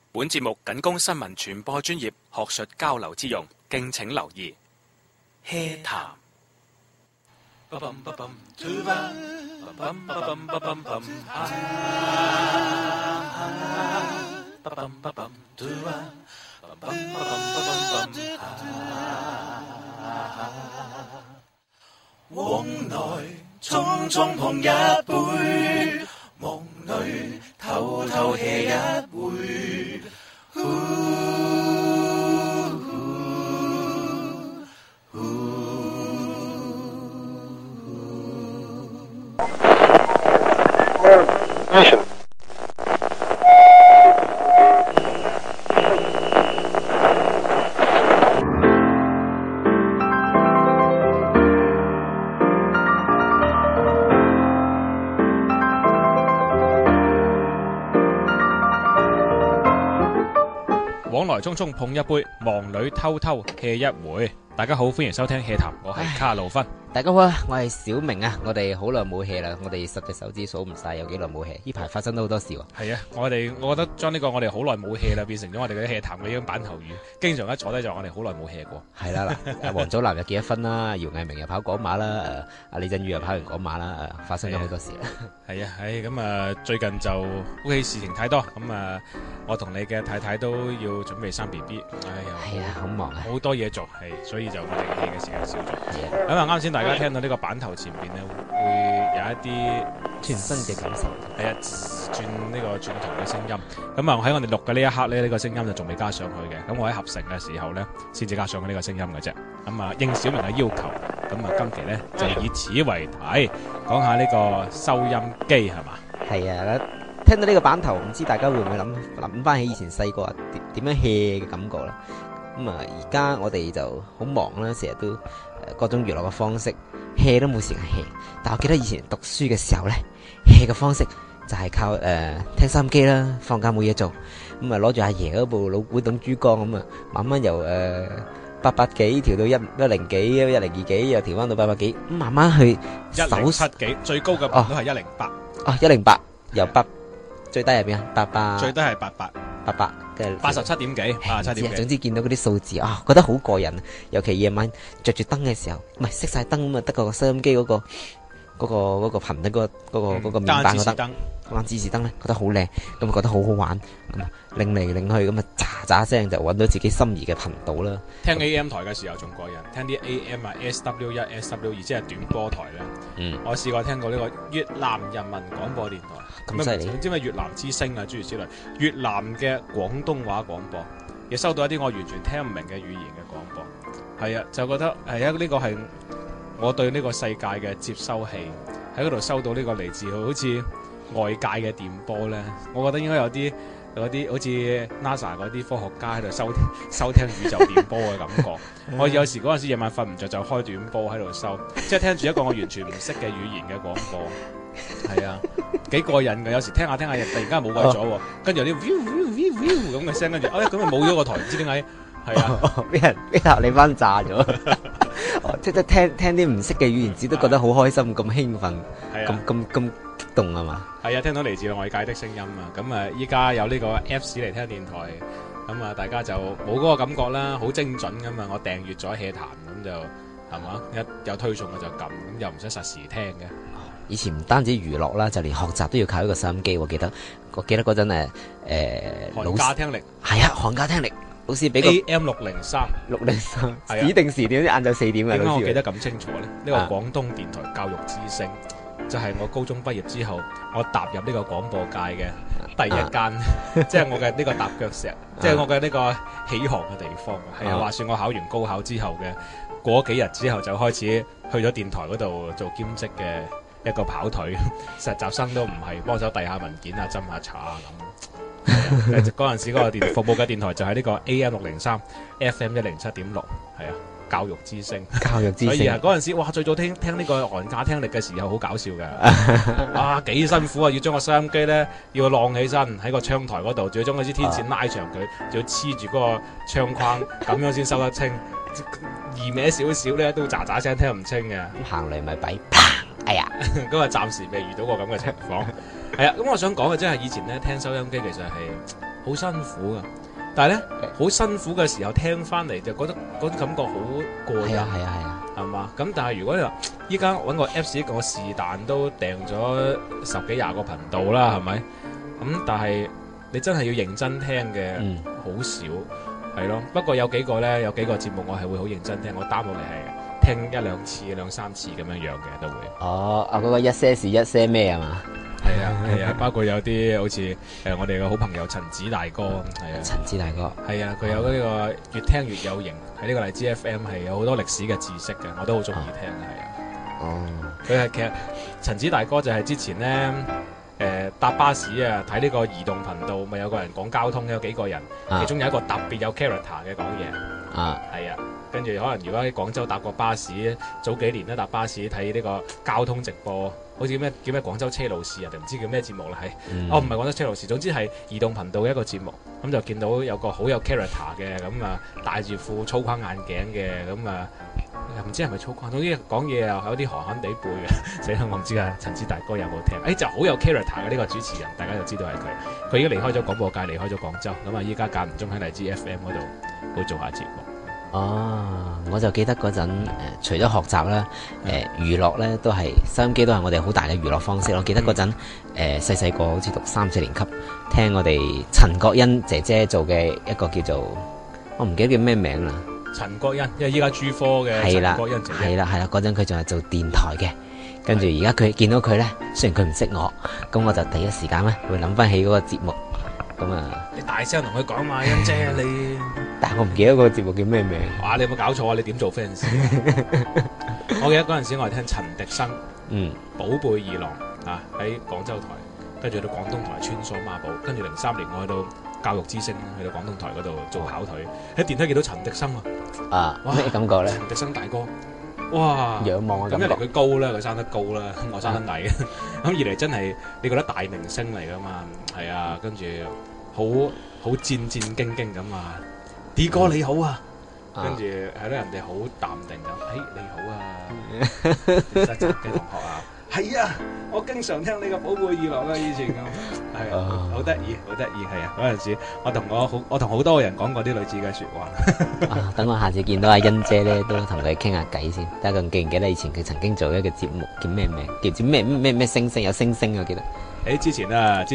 本節目僅供新聞傳播專業學術交流之用，敬請留意。HEA 談。往來匆匆碰一杯，夢裏偷偷 hea 一回。 往來匆匆碰一杯，忙裏偷偷 hea 一回。大家好，歡迎收聽 HEA 談，我係卡路芬。 大家好啊，我係小明啊，我哋好耐冇 hea 啦，我哋10隻手指數唔晒有幾耐冇 hea，呢排發生咗好多事喎。 係啊，我覺得將呢個我哋好耐冇 hea 啦，變成咗我哋嘅 HEA 談嘅一種版頭語，經常一坐低就話我哋好耐冇 hea 過。 係啦嗱，王祖藍又結咗婚啦，姚毅明又跑港馬啦，阿李振宇又跑完港馬啦，發生咗好多事啦。 係啊，咁啊，最近就屋企事情太多，咁啊，我同你嘅太太都要準備生 BB， 係啊，好忙啊， 好多嘢做，係，所以就我哋 hea 嘅時間少咗。咁啊，啱先大家聽到呢個版頭前邊咧，會有一啲全新嘅感受。 係啊，轉呢個轉台嘅聲音。咁啊，喺我哋錄嘅呢一刻咧，呢個聲音就仲未加上去嘅。咁我喺合成嘅時候咧，先至加上去呢個聲音嘅啫。咁啊，應小明嘅要求，咁啊，今期咧就以此為題，講下呢個收音機係嘛？ 係啊，聽到呢個版頭，唔知大家會唔會諗翻起以前細個啊點樣 hea 嘅感覺啦？咁啊，而家我哋就好忙啦，成日都各種娛樂嘅方式 hea 都冇時間 hea。但我記得以前讀書嘅時候咧 hea 嘅方式就係靠聽收音機啦，放假冇嘢做，咁啊攞住阿爺嗰部老古董珠江咁啊，慢慢由800幾調到110幾102幾，又調翻到800幾，咁慢慢去 107幾，最高嘅頻都係108。 哦，108由8最低係邊啊？800 最低係88 嘅 87點幾，87點幾。 總之見到嗰啲數字啊，覺得好過癮。尤其夜晚着住燈嘅時候，唔係熄晒燈咁啊，得個收音機嗰個頻率嗰個面板嗰燈，嗰盞指示燈咧，覺得好靚，咁啊覺得好好玩，咁啊擰嚟擰去咁啊喳聲就揾到自己心儀嘅頻道啦。 聽 AM 台嘅時候仲過癮，聽啲 AM 啊 SW1 SW2 即係短波台咧。我試過聽過呢個越南人民廣播電台， 咁犀利， 唔知咩越南之聲啊諸如此類，越南嘅廣東話廣播，亦收到一啲我完全聽唔明嘅語言嘅廣播。係啊，就覺得係啊，呢個係我對呢個世界嘅接收器，喺嗰度收到呢個嚟自好似外界嘅電波咧，我覺得應該有啲好似 NASA 嗰啲科學家喺度收聽宇宙電波嘅感覺。我有時嗰陣時夜晚瞓唔着就開短波喺度收，即係聽住一個我完全唔識嘅語言嘅廣播。係啊，幾過癮嘅。有時聽下聽下，突然間冇鬼咗，跟住有啲 view 咁嘅聲，跟住咁咪冇咗個台，唔知點解。係啊， 俾人你翻炸咗。即係聽啲唔識嘅語言，只都覺得好開心，咁興奮，咁激動啊嘛。 係啊，聽到嚟自外界的聲音啊。咁啊，依家有呢個 Apps 嚟聽電台，咁啊，大家就冇嗰個感覺啦，好精準噶嘛。我訂閱咗 HEA 談，咁就係嘛，一有推送我就撳，咁又唔使實時聽嘅。 以前唔單止娛樂啦，就連學習都要靠一個收音機。我記得嗰陣寒假聽力係啊，寒假聽力。老師俾個 AM603 指定時段，啲晏晝4點嘅。 點解我記得咁清楚咧？呢個廣東電台教育之聲，就係我高中畢業之後，我踏入呢個廣播界嘅第一間，即係我嘅呢個踏腳石，即係我嘅呢個起航嘅地方。係啊，話說我考完高考之後嘅過幾日之後，就開始去咗電台嗰度做兼職嘅一個跑腿，實習生都唔係，幫手遞下文件啊，斟下茶啊咁。嗰陣時嗰個服務嘅電台就係呢個 AM603 FM107.6， 係啊，教育之聲。所以啊，嗰陣時哇，最早聽呢個寒假聽力嘅時候好搞笑㗎。哇，幾辛苦啊！要將個收音機咧要晾起身喺個窗台嗰度，仲要將嗰支天線拉長佢，仲要黐住嗰個窗框，咁樣先收得清。移歪少少咧都喳喳聲聽唔清嘅。 行嚟咪弊，啪！哎呀， 咁啊暫時未遇到過咁嘅情況。係啊，咁我想講嘅即係以前咧聽收音機其實係好辛苦噶。但係咧，好辛苦嘅時候聽翻嚟就覺得嗰種感覺好過癮，係嘛？咁但係如果你話依家揾個 Apps， 我是但都訂咗10幾20個頻道啦，係咪？咁但係你真係要認真聽嘅，好少係咯。不過有幾個節目我係會好認真聽，我 down 落嚟係聽1、2次、2、3次咁樣樣嘅都會。 哦，嗰個一些事一些咩啊嘛？ 係啊，包括有啲好似我哋嘅好朋友陳子大哥，係啊， 陳子大哥， 係啊，佢有呢個越聽越有型，喺呢個荔枝 FM 係有好多歷史嘅知識嘅，我都好中意聽嘅，係啊。哦，佢係其實陳子大哥就係之前咧搭巴士啊，睇呢個移動頻道，咪有個人講交通，有幾個人，其中有一個特別有 character 嘅講嘢，係啊。跟住可能如果喺廣州搭過巴士，早幾年咧搭巴士睇呢個交通直播，好似叫咩廣州車路士啊，定唔知叫咩節目啦，係唔係廣州車路士？總之係移動頻道嘅一個節目，咁就見到有個好有 character 嘅，咁啊戴住副粗框眼鏡嘅，咁啊唔知係咪粗框，總之講嘢又有啲寒寒地背嘅，死啦我唔知啊！陳子大哥有冇聽？就好有 character 嘅呢個主持人，大家就知道係佢。佢已經離開咗廣播界，離開咗廣州，咁啊依家間唔中喺荔枝 FM 嗰度會做下節目。 我就記得嗰陣除咗學習啦，娛樂咧都係收音機都係我哋好大嘅娛樂方式。我記得嗰陣細個好似讀3、4年級，聽我哋陳國欣姐姐做嘅一個叫做我唔記得叫咩名啦。 陳國欣，因為依家珠科嘅陳國欣姐姐。係啦，嗰陣佢仲係做電台嘅，跟住而家佢見到佢咧，雖然佢唔識我，咁我就第一時間咧會諗翻起嗰個節目。咁啊！你大聲同佢講嘛，欣姐你。 但係我唔記得個節目叫咩名。 哇！你有冇搞錯啊？你點做 fans？我記得嗰陣時我係聽陳迪生，寶貝二郎啊喺廣州台，跟住到廣東台穿梭孖寶，跟住03年我去到教育之聲，去到廣東台嗰度做考腿，喺電梯見到陳迪生啊！咩感覺咧？ 陳迪生大哥，哇！ 仰望啊！ 咁一嚟佢高啦，佢生得高啦，我生得矮，咁二嚟真係你覺得大明星嚟噶嘛？係啊，跟住。好戰兢兢咁啊！D 哥你好啊，跟住係咯，人哋好淡定咁，你好啊，實習嘅同學啊，係啊，我經常聽你個寶貝二郎啊，以前咁，係啊，好得意，係啊，嗰陣時我同好多個人講過啲類似嘅說話。 等我下次見到阿欣姐咧，都同佢傾下偈先。睇下佢記唔記得以前佢曾經做一個節目叫咩名？叫做咩星星有星星我記得。 之前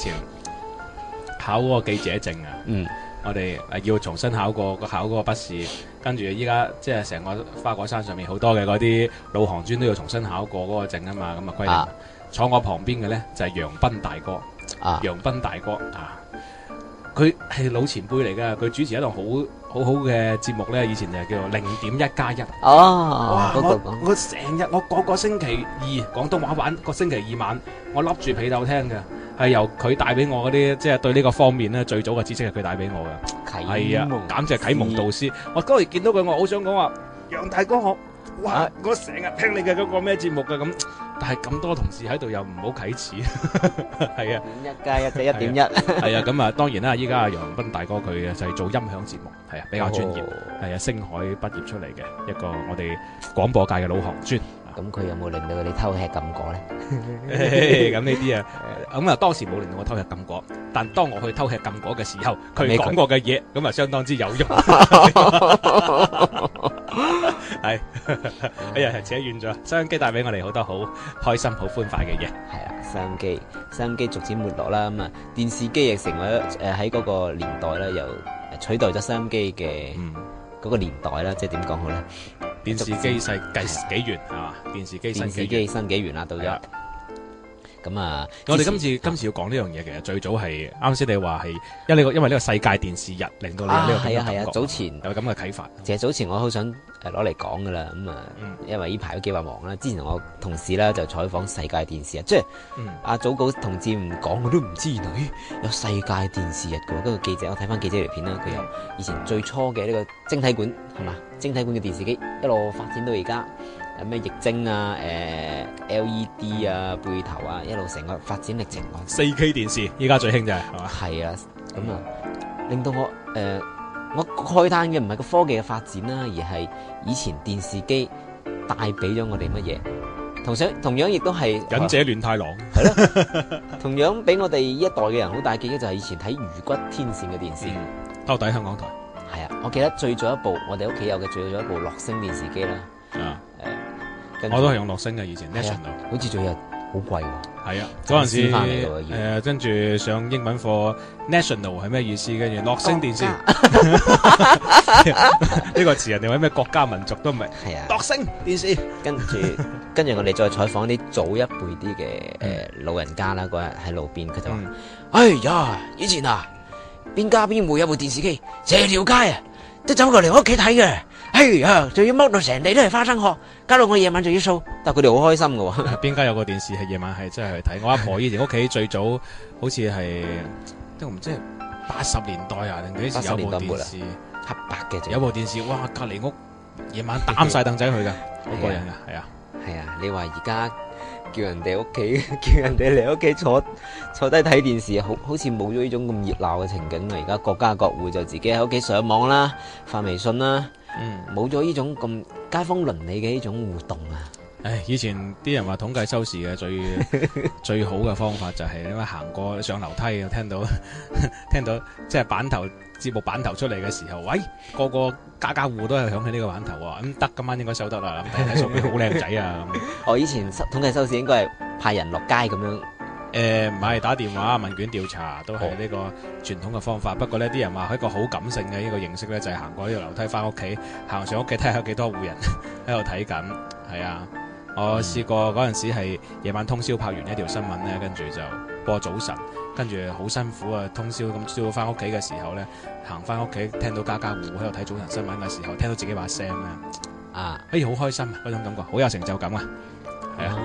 考嗰個記者證啊，我哋要重新考嗰個筆試，跟住依家即係成個花果山上面好多嘅嗰啲老行專都要重新考過嗰個證啊嘛，咁啊規定。坐我旁邊嘅咧就係楊斌大哥，楊斌大哥啊，佢係老前輩嚟噶，佢主持一檔好好嘅節目咧，以前就係叫做0.1+1。哇！我成日我個星期二廣東話版，個星期二晚我笠住被竇聽嘅。係由佢帶俾我嗰啲，即係對呢個方面咧最早嘅知識係佢帶俾我嘅，係啊，簡直係啟蒙導師。我嗰日見到佢，我好想講話，楊大哥我成日聽你嘅嗰個咩節目嘅咁，但係咁多同事喺度又唔好啟齒，係啊 ，1+1就1.1，係啊，咁啊當然啦，依家阿楊斌大哥佢就係做音響節目，係啊比較專業，係啊星海畢業出嚟嘅一個我哋廣播界嘅老行專。 咁佢有冇令到你偷吃禁果咧？ 咁呢啲啊，咁啊當時冇令到我偷吃禁果，但當我去偷吃禁果嘅時候，佢講過嘅嘢，咁啊相當之有用。係，哎呀，扯遠咗。收音機帶俾我哋好多好開心、好歡快嘅嘢。 係啊，收音機逐漸沒落啦，咁啊電視機亦成為喺嗰個年代咧，又取代咗收音機嘅嗰個年代啦，即係點講好咧？ 電視機細幾元係嘛？電視機新幾元啦，到咗。咁啊， 我哋今次要講呢樣嘢，其實最早係啱先你話係因為呢個世界電視日令到你有呢個感覺。係啊，早前有咁嘅啟發。 其實早前我好想攞嚟講噶啦，咁啊，因為呢排都幾話忙啦。之前我同事啦就採訪世界電視日，即係阿祖稿同志唔講我都唔知原來有世界電視日嘅。嗰個記者我睇翻記者條片啦，佢由以前最初嘅呢個晶體管係嘛，晶體管嘅電視機一路發展到而家。有咩液晶啊、LED 啊、背頭啊，一路成個發展歷程。 4K 電視依家最興就係嘛？ 係啊，咁啊，令到我慨嘆嘅唔係個科技嘅發展啦，而係以前電視機帶俾咗我哋乜嘢？ 同樣亦都係忍者亂太郎， 係咯，同樣俾我哋呢一代嘅人好大記憶就係以前睇《魚骨天線》嘅電視。 兜底香港台。 係啊，我記得最早一部我哋屋企有嘅最早一部樂聲電視機啦。 我都係用樂聲嘅以前 National， 好似仲有好貴喎。係啊，嗰陣時翻嚟嘅跟住上英文課 National 係咩意思？跟住樂聲電視呢個詞人哋話咩國家民族都唔係。係啊，樂聲電視。跟住我哋再採訪啲早一輩啲嘅老人家啦，嗰日喺路邊佢就話：哎呀，以前啊，邊家邊戶有部電視機，成條街啊都走過嚟我屋企睇嘅。哎呀，仲要剝到成地都係花生殼，搞到我夜晚仲要掃，但係佢哋好開心㗎喎。邊家有個電視係夜晚係真係去睇？我阿婆以前屋企最早好似係都唔知係80年代啊定幾時有部電視黑白嘅， 有部電視，哇！隔離屋夜晚擔晒凳仔去㗎，好過癮㗎，係啊。 係啊，你話而家叫人哋屋企，叫人哋嚟屋企坐低睇電視，好似冇咗呢種咁熱鬧嘅情景啦。而家各家各戶就自己喺屋企上網啦，發微信啦，冇咗呢種咁街坊鄰里嘅呢種互動啊。 唉，以前啲人話統計收視嘅最好嘅方法就係因為行過上樓梯啊，聽到即係節目版頭出嚟嘅時候，喂，個家戶都係響起呢個版頭喎，咁得今晚應該收得啦，睇數據好靚仔啊咁。 我以前統計收視應該係派人落街咁樣， 唔係打電話問卷調查都係呢個傳統嘅方法。不過呢啲人話係一個好感性嘅呢個形式咧，就係行過呢個樓梯翻屋企，行上屋企睇下有幾多戶人喺度睇緊，係啊。我試過嗰陣時係夜晚通宵拍完一條新聞咧，跟住就播早晨，跟住好辛苦啊，通宵咁朝翻屋企嘅時候咧，行翻屋企聽到家戶喺度睇早晨新聞嘅時候，聽到自己把聲咧，好開心啊，嗰種感覺好有成就感啊，係啊。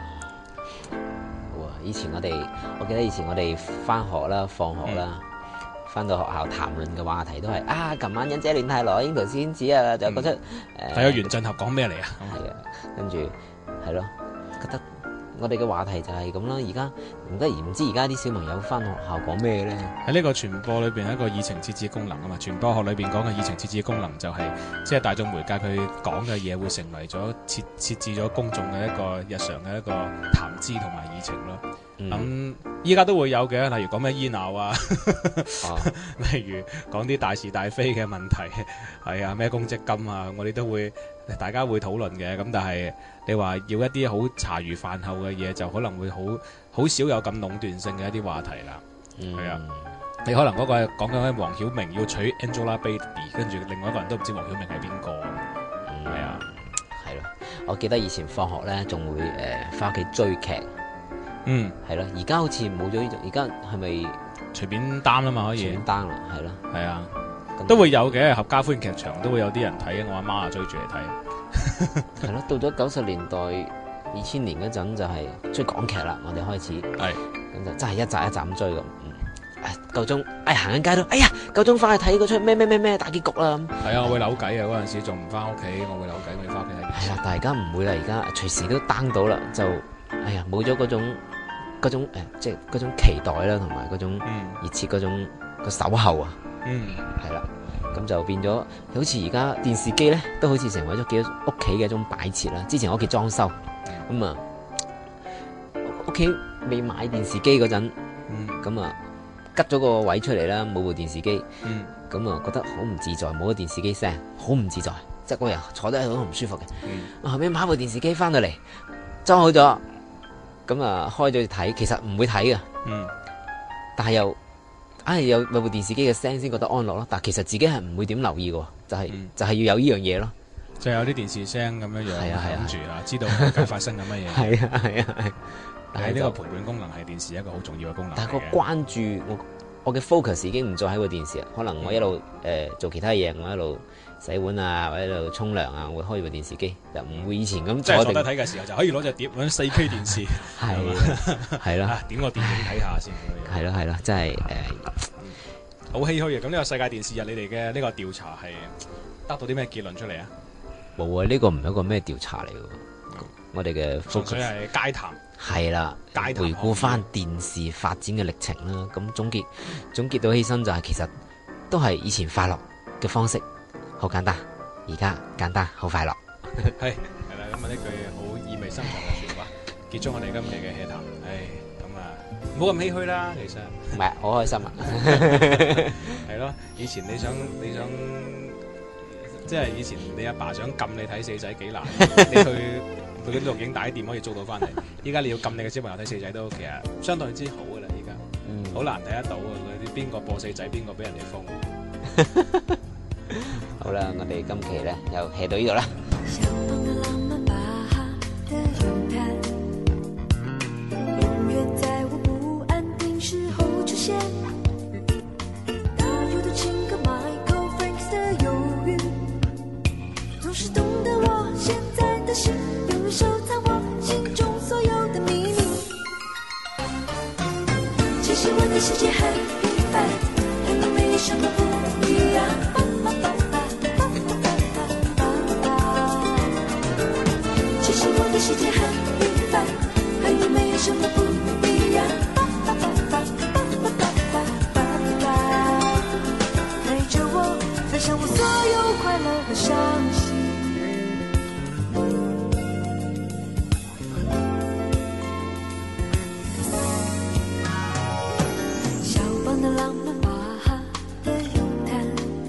好啊！我記得以前我哋翻學啦、放學啦，翻到學校談論嘅話題都係琴晚忍者亂太郎、櫻桃小丸子啊，就覺得睇咗原振俠講咩嚟啊？ 係啊，跟住。係咯，覺得我哋嘅話題就係咁啦。而家唔知而家啲小朋友翻學校講咩咧？ 喺呢個傳播裏邊，一個議程設置功能啊嘛。傳播學裏邊講嘅議程設置功能就係，即係大眾媒介佢講嘅嘢會成為咗設置咗公眾嘅一個日常嘅一個談資同埋議程咯。咁依家都會有嘅，例如講咩醫鬧啊，例如講啲大是大非嘅問題，係啊，咩公積金啊，我哋都會大家會討論嘅。咁但係你話要一啲好茶餘飯後嘅嘢，就可能會好少有咁壟斷性嘅一啲話題啦。係啊，你可能嗰個係講緊黃曉明要娶 Angelababy， 跟住另外一個人都唔知黃曉明係邊個。係啊， 係咯。我記得以前放學咧，仲會翻屋企追劇。係咯，而家好似冇咗呢種，而家係咪隨便 down 啦嘛？可以隨便 down 啦，係咯， 係啊，都會有嘅，合家歡劇場都會有啲人睇，我阿媽啊追住嚟睇。係咯，到咗90年代、2000年嗰陣就係追港劇啦，我哋開始係咁就真係一集一集咁追咁。夠鐘，行緊街都，夠鐘翻去睇嗰出咩大結局啦。 係啊，我會扭計啊，嗰陣時仲唔翻屋企，我會扭計，我要翻屋企睇。 係啦，但係而家唔會啦，而家隨時都 down 到啦，就冇咗嗰種即係嗰種期待啦，同埋嗰種熱切嗰種個守候啊。係啦，咁就變咗，好似而家電視機咧，都好似成為咗幾屋企嘅一種擺設啦。之前我屋企裝修，咁啊，屋企未買電視機嗰陣，咁啊。吉咗個位出嚟啦，冇部電視機，咁啊覺得好唔自在，冇咗電視機聲，好唔自在，即係嗰日坐得喺度都唔舒服嘅。後尾買部電視機翻到嚟，裝好咗，咁啊開咗睇，其實唔會睇嘅，但係又有部電視機嘅聲先覺得安樂咯。但係其實自己係唔會點留意嘅，就係要有呢樣嘢咯， 就有啲電視聲咁樣樣諗住啊，知道究竟發生緊乜嘢。 係。 但係呢個陪伴功能係電視一個好重要嘅功能。 但係個關注我嘅 focus 已經唔再喺個電視啦。可能我一路做其他嘢，我一路洗碗啊，或者一路沖涼啊，我會開部電視機，就唔會以前咁坐低睇嘅時候就可以攞隻碟揾 4K 電視。 係啦， 點個電影睇下先。 係咯，真係好唏噓嘅。咁呢個世界電視日，你哋嘅呢個調查係得到啲咩結論出嚟啊？ 冇啊，呢個唔係一個咩調查嚟嘅。我哋嘅 focus 純粹係街談。 係啦，回顧翻電視發展嘅歷程啦，咁總結到起身就係其實都係以前快樂嘅方式，好簡單，而家簡單好快樂。 係啦，咁啊呢句好意味深長嘅說話。 結束我哋今期嘅 hea 談。咁啊，唔好咁唏噓啦，其實唔係好開心啊！ 係咯，以前你想，即係以前你阿爸想撳你睇四仔幾難，你去嗰啲錄影帶店可以租到翻嚟。依家你要撳你嘅小朋友睇四仔都其實相當之好噶啦，依家好難睇得到啊！嗰啲邊個播四仔，邊個俾人哋封。 好啦，我哋今期咧又 hea 到呢度啦。 小胖的浪漫巴哈的咏叹，永远在我不安定时候出现。大有的情歌 Michael Franks 的忧郁，总是懂得我现在的心，永远收藏我心中所有的秘密。其实我的世界很平凡，和你没有什么不一样。我的世界很平凡，和你没有什么不一样。陪着我，分享我所有快乐和伤心。肖邦的浪漫巴哈的咏叹，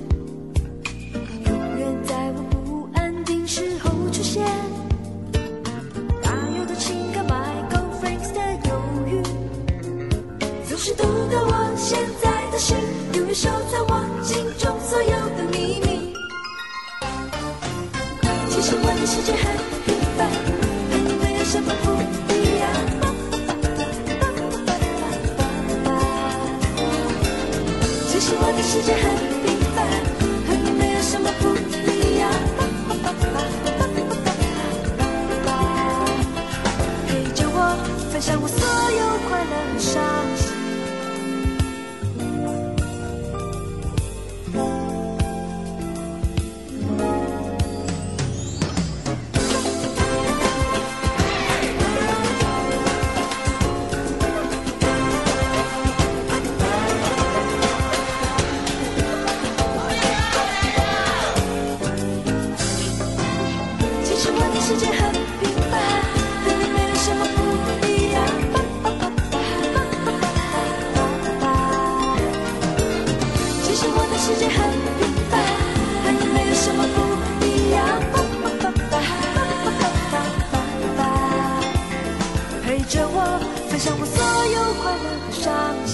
永远在我不安定时候出现。是懂得我现在的心，永远收藏我心中所有的秘密。其实我的世界很平凡，和你没有什么不一样。其实我的世界很平凡，和你没有什么不一样。陪着我，分享我所有快乐和伤心。世界很平凡，和你没有什么不一样。其实我的世界很平凡，和你没有什么不一样。陪着我，分享我所有快乐和伤心。